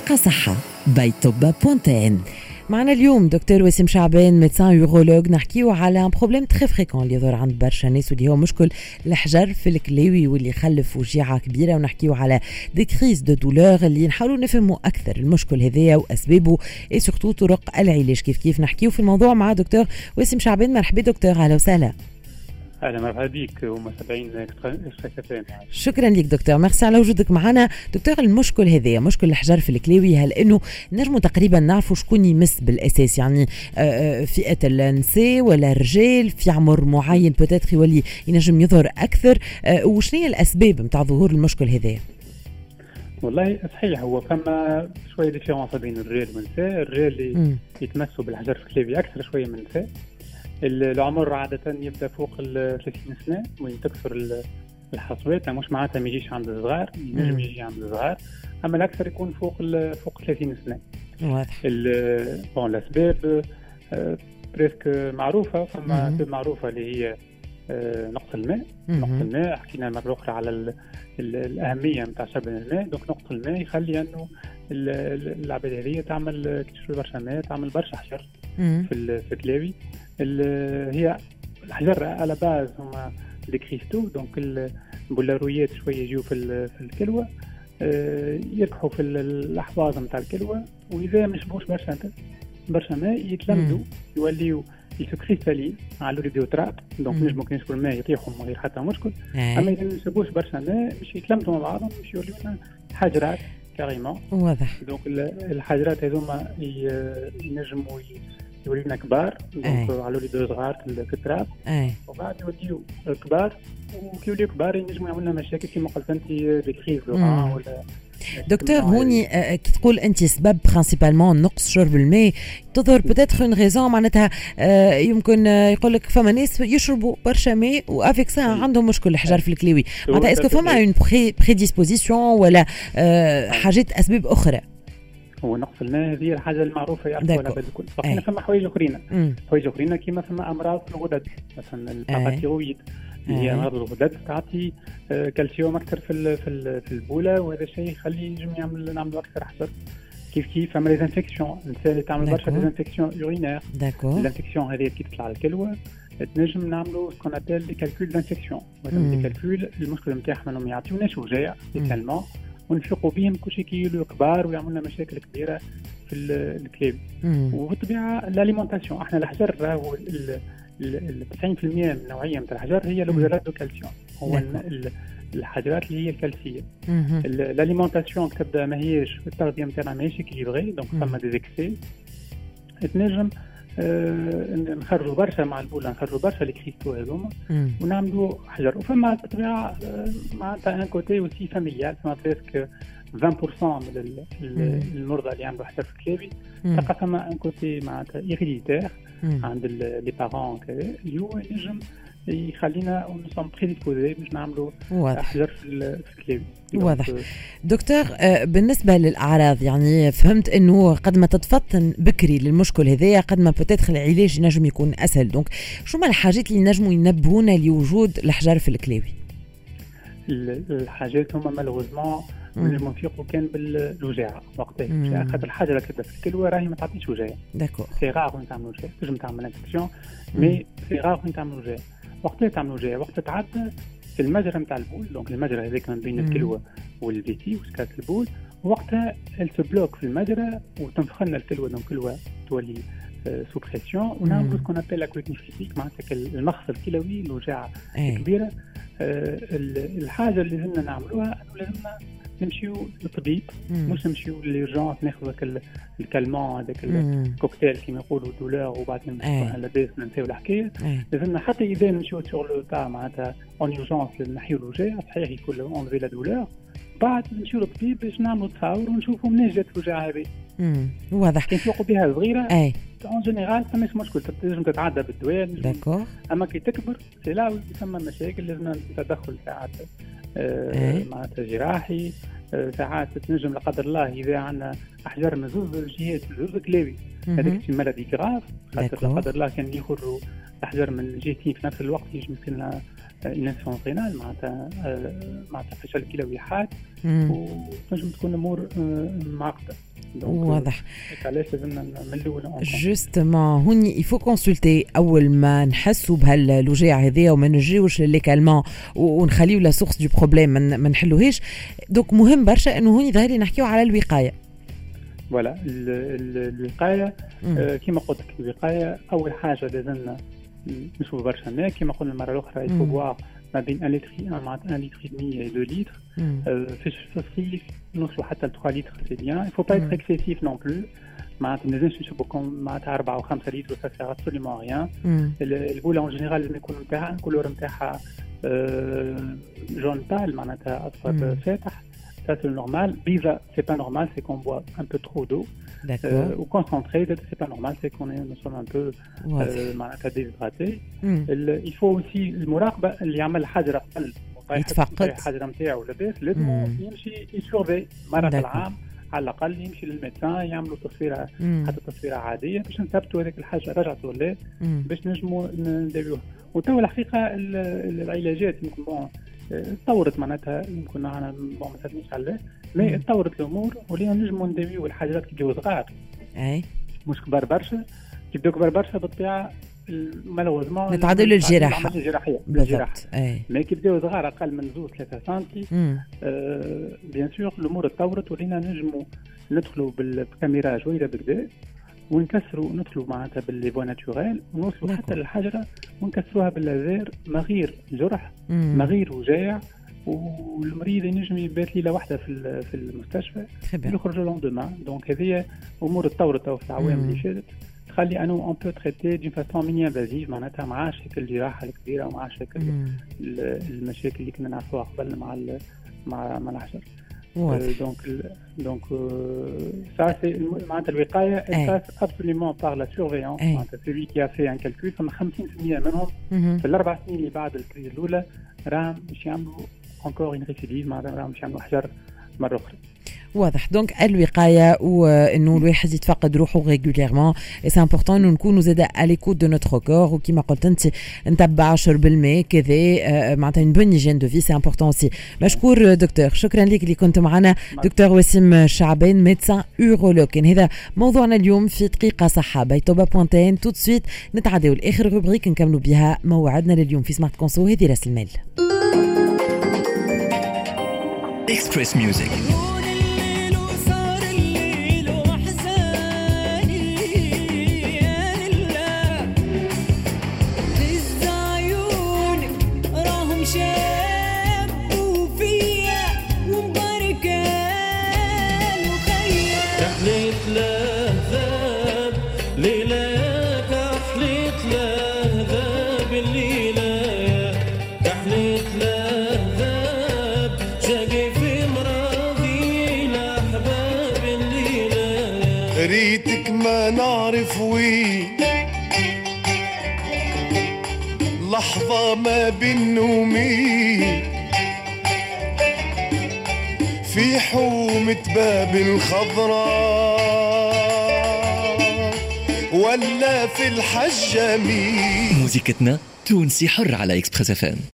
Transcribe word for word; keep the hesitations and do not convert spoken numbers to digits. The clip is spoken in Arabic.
دقيقة صحة باي طب بوانتين. معنا اليوم دكتور وسيم شعبان ميدسان يورولوج، نحكيو على بروبليم تري فريكون اللي يظهر عند برشا ناس واللي هو مشكل الحجر في الكلاوي واللي يخلف وجيعة كبيرة، ونحكيو على دي كريز دو دولور اللي نحاولوا نفهموا أكثر المشكل هذايا وأسبابه اي سورتو طرق العلاج. كيف كيف نحكيو في الموضوع مع دكتور وسيم شعبان. مرحبا دكتور، أهلا وسهلا. اهلا مرحبا بك ومتابعين الشكتين. شكرا لك دكتور، ميرسي على وجودك معنا. دكتور، المشكل هذايا مشكل الحجر في الكلاوي، هل انه نجموا تقريبا نعرفوا شكون يمس بالاساس؟ يعني فئه النساء ولا الرجال في عمر معين بوتيتر يولي ينجم يظهر اكثر؟ وشنو هي الاسباب نتاع ظهور المشكل هذايا؟ والله صحيح، هو فما شويه ديفيرونس بين الرجال والنساء. الرجال اللي يتمسوا بالحجر في الكلاوي اكثر شويه من النساء. العمر عادة يبدأ فوق ال ثلاثين سنة وين تكثر الحصوات، مش معناتها ما يجيش عند الصغار، ينجم يجي عند الصغار، أما الأكثر يكون فوق فوق ثلاثين سنة. واضح. بون الأسباب بريسك معروفة، فما أسباب معروفة اللي هي نقص الماء. نقص الماء حكينا مرة أخرى على ال ال الأهمية نتاع شرب الماء. دونك نقص الماء يخلي أنه العباد هذه تعمل كتشوف برشا ماء، تعمل برشا حجر في في الكلاوي. هي الحجر على باز هما دي كريستو، دونك البولارويات شويه يجيو في في الكلوه، يربحوا في الاحواض نتاع الكلوه، واذا ما شربوش برشا برشا ماء يتلمدوا يوليو يسكريستالين على الريديوتراب. دونك نجمو كي نشربوا الماء يطيحوا من غير حتى مشكل. اما اذا ما شربوش برشا ماء باش يتلمدوا مع بعضهم، باش يوليو لنا حجرات كاريمون. واضح. دونك الحجرات هذوما ينجموا يولينا كبار، دونك على ولي دو صغار في التراب، وبعد يوليو كبار، وكي يوليو كبار ينجموا يعملوا لنا مشاكل كما قلت انت دي كريز ولا. دكتور هوني كي تقول انت سبب برينسيبالمون نقص شرب الماء، تظهر بوتيتر اون ريزون معناتها يمكن يقول لك فما ناس يشربوا برشا ماء وافيك سا عندهم مشكل الحجر في الكلاوي، معناتها اسكو فما اون بريديسبوزيسيون ولا حاجات اسباب اخرى؟ هو نقص الماء هذه الحاجه المعروفه يعرفوها العباد الكل. بقينا فما حوايج اخرين، حوايج اخرين كيما فما امراض في الغدد، مثلا الباراثيرويد اللي هي امراض الغدد تعطي كالسيوم اكثر في في البوله، وهذا الشيء يخلي ينجم يعمل نعملوا اكثر حجر. كيف كيف فما ليزانفيكسيون، النساء اللي تعمل برشا ليزانفيكسيون يورينير، الانفيكسيون هذه كي تطلع الكلوه تنجم نعملوا سكون ابل دي كالكول دانفيكسيون. مثلا دي كالكول المشكل نتاعهم انهم يعطيوناش وجاع تالمون ونفيقوا بهم كل شيء كيولوا كبار ويعملوا لنا مشاكل كبيره في الكلاب. وبالطبيعه الاليمونتاسيون، احنا الحجر راهو تسعين بالمئة من النوعيه نتاع الحجر هي لوغزالات دو كالسيوم، هو الحجرات اللي هي الكالسيه. الاليمونتاسيون تبدا ماهيش التغذيه نتاعنا ماهيش اكيليبري، دونك فما دي زيكسي تنجم آه نخرجوا برشا مع البوله، نخرجوا برشا لي كريستو هذوما ونعملوا حجر. وفما بالطبيعه معناتها ان كوتي اوسي فاميليال، فما بريسك عشرين بالمئة من المرضى اللي عندهم حجر في الكلاوي تلقى فما ان كوتي معناتها ايريديتير عند لي بارون اللي هو ينجم يخلينا نسوم بريديسبوزي باش نعملوا حجر في الكلاوي. واضح. دكتور بالنسبة للأعراض، يعني فهمت أنه قد ما تتفطن بكري للمشكل هذايا قد ما بتدخل العلاج ينجم يكون أسهل. دونك شو ما الحاجات اللي نجموا ينبهونا لوجود الحجر في الكلاوي؟ الحاجات هما مالوغوزمون نجموا نفيقوا كان بالوجاعة وقتها، خاطر الحاجة اللي تبدا في الكلوة راهي ما تعطيش وجاعة. داكور. سي غار وين تعمل وجاعة، تنجم تعمل انفكسيون مي سي غار وين تعمل وجاعة. وقتها تعمل وجاعة وقت تعدى في المجرى نتاع البول، دونك المجرى هذاك من بين الكلوة والفيتي وسكات البول، وقتها التبلوك في المجرى وتنفخلنا الكلوة، دونك الكلوة تولي سو بريسيون ونعملوا سكون ابل لا كويتنيفيتيك، معناتها المخص الكلوي الوجاعة كبيرة. آه الحاجة اللي لازمنا نعملوها انه لازمنا نمشيو للطبيب، مش نمشيو للجونس ناخذ هذاك الكالمون هذاك الكوكتيل كيما يقولوا دولار وبعدين نمشيو لاباس ننساو الحكايه. لازمنا حتى اذا نمشيو سور لو تاع معناتها اون اورجونس نحيو الوجاع، صحيح يكون اونفي لا دولار، بعد نمشيو للطبيب باش نعملوا تصاور ونشوفوا منين جات الوجاعه هذه. واضح. كي نفيقوا بها صغيره اون جينيرال فماش مشكل، تنجم تتعدى بالدواء. داكور. اما كي تكبر سي لا يسمى مشاكل، لازم تدخل ساعات آه معناتها جراحي، آه ساعات تنجم لا قدر الله اذا عندنا احجار من زوج الجهات زوج كلاوي، هذاك شي مالادي كراف، خاطر لا قدر الله كان يخرجوا احجار من الجهتين في نفس الوقت يجي يمكن لنا انسفون رينال معناتها معناتها فشل كلوي حاد، وتنجم تكون امور معقده. واضح. علاش لازمنا من الاول جوستومون هوني يفو كونسلتي اول ما نحسوا بهالوجيع هذيا وما نجيوش للي كالمون ونخليو لا سورس دو بروبليم ما نحلوهاش. دونك مهم برشا انه هوني ظاهر لي نحكيو على الوقايه. فوالا الوقايه كما قلت لك الوقايه اول حاجه لازمنا نشوف برشا ماء كما قلنا المره الاخرى يفو بواغ ما بين واحد لتر معناتها واحد لتر ودمي و اثنين لتر. في الصيف نوصلوا حتى ل ثلاثة لتر سي بيان. يفو با être excessif non plus. معناتها ما لازمش نشربوا معناتها أربعة وخمسة لتر سا سير ابسوليومون ريان. البوله اون جينيرال لازم يكون نتاعها الكولور نتاعها جون بال معناتها اصفر فاتح. Ça c'est le normal. Biva, c'est pas normal, c'est qu'on boit un peu trop d'eau. D'accord. Euh, ou concentré, c'est pas normal, c'est qu'on est, nous sommes un peu euh, déshydraté. Mm. Il faut aussi le مراقبة اللي يعمل حجر قلب. يتفقد. الحجر نتاعو لاباس لازم يمشي يسورفي مرة في العام على الأقل يمشي للميدسان يعملوا تصويرة حتى تصويرة عادية باش نثبتوا هذيك الحاجة رجعت ولا لا باش نجموا نداويوها. وتو الحقيقة العلاجات يمكن بون تطورت معناتها يمكن معنا ما مثلنيش عليه مي تطورت الامور ولينا نجموا نداويو الحاجات كي يبداو صغار اي مش كبار برشا كي يبداو كبار برشا بالطبيعه مالوزمون نتعدوا للجراحه الجراحيه بالجراحه مي كي يبداو صغار اقل من زوج ثلاثة سنتي آه بيان سور الامور تطورت ولينا نجموا ندخلوا بالكاميرا جويله بكدا ونكسروا ندخلوا معناتها بالليفو ناتوريل ونوصلوا حتى للحجره ونكسروها باللازير ما غير جرح ما غير وجاع والمريض ينجم يبات ليله واحده في في المستشفى يخرج لوندومان. دونك هذه امور تطورت في العوام اللي فاتت تخلي انه اون بو تريتي دون فاسون ميني انفازيف معناتها مع شكل الجراحه الكبيره ومع شكل المشاكل اللي كنا نعرفوها قبل مع مع مع الحجر. دونك دونك ça c'est معناتها الوقايه passe absolument par la surveillance. معناتها celui qui a fait un calcul فما خمسين بالمئة منهم في الاربع سنين اللي بعد الكريز الاولى راهم باش يعملوا encore une récidive معناتها راهم باش يعملوا حجر مره اخرى. واضح. دونك الوقايه وانه الواحد يتفقد روحه ريغوليرمون اي سي امبورطون انه نكونوا زاده اليكوت دو نوتر كور وكيما قلت انت نتبع شرب الماء كذا معناتها اون بون هيجين دو في سي امبورطون سي. مشكور دكتور. شكرا لك اللي كنت معنا دكتور وسيم شعبان ميدسان اورولوج. كان هذا موضوعنا اليوم في دقيقه صحه بيتوبا بوانتين. تو سويت نتعداو لاخر روبريك نكملوا بها موعدنا لليوم في سمارت كونسو. هذه راس المال اكسبريس ميوزك. ريتك ما نعرف وين لحظة ما بين نومين في حومة باب الخضراء ولا في الحجامين. موسيقتنا تونسي حر على إكسبريس اف ام.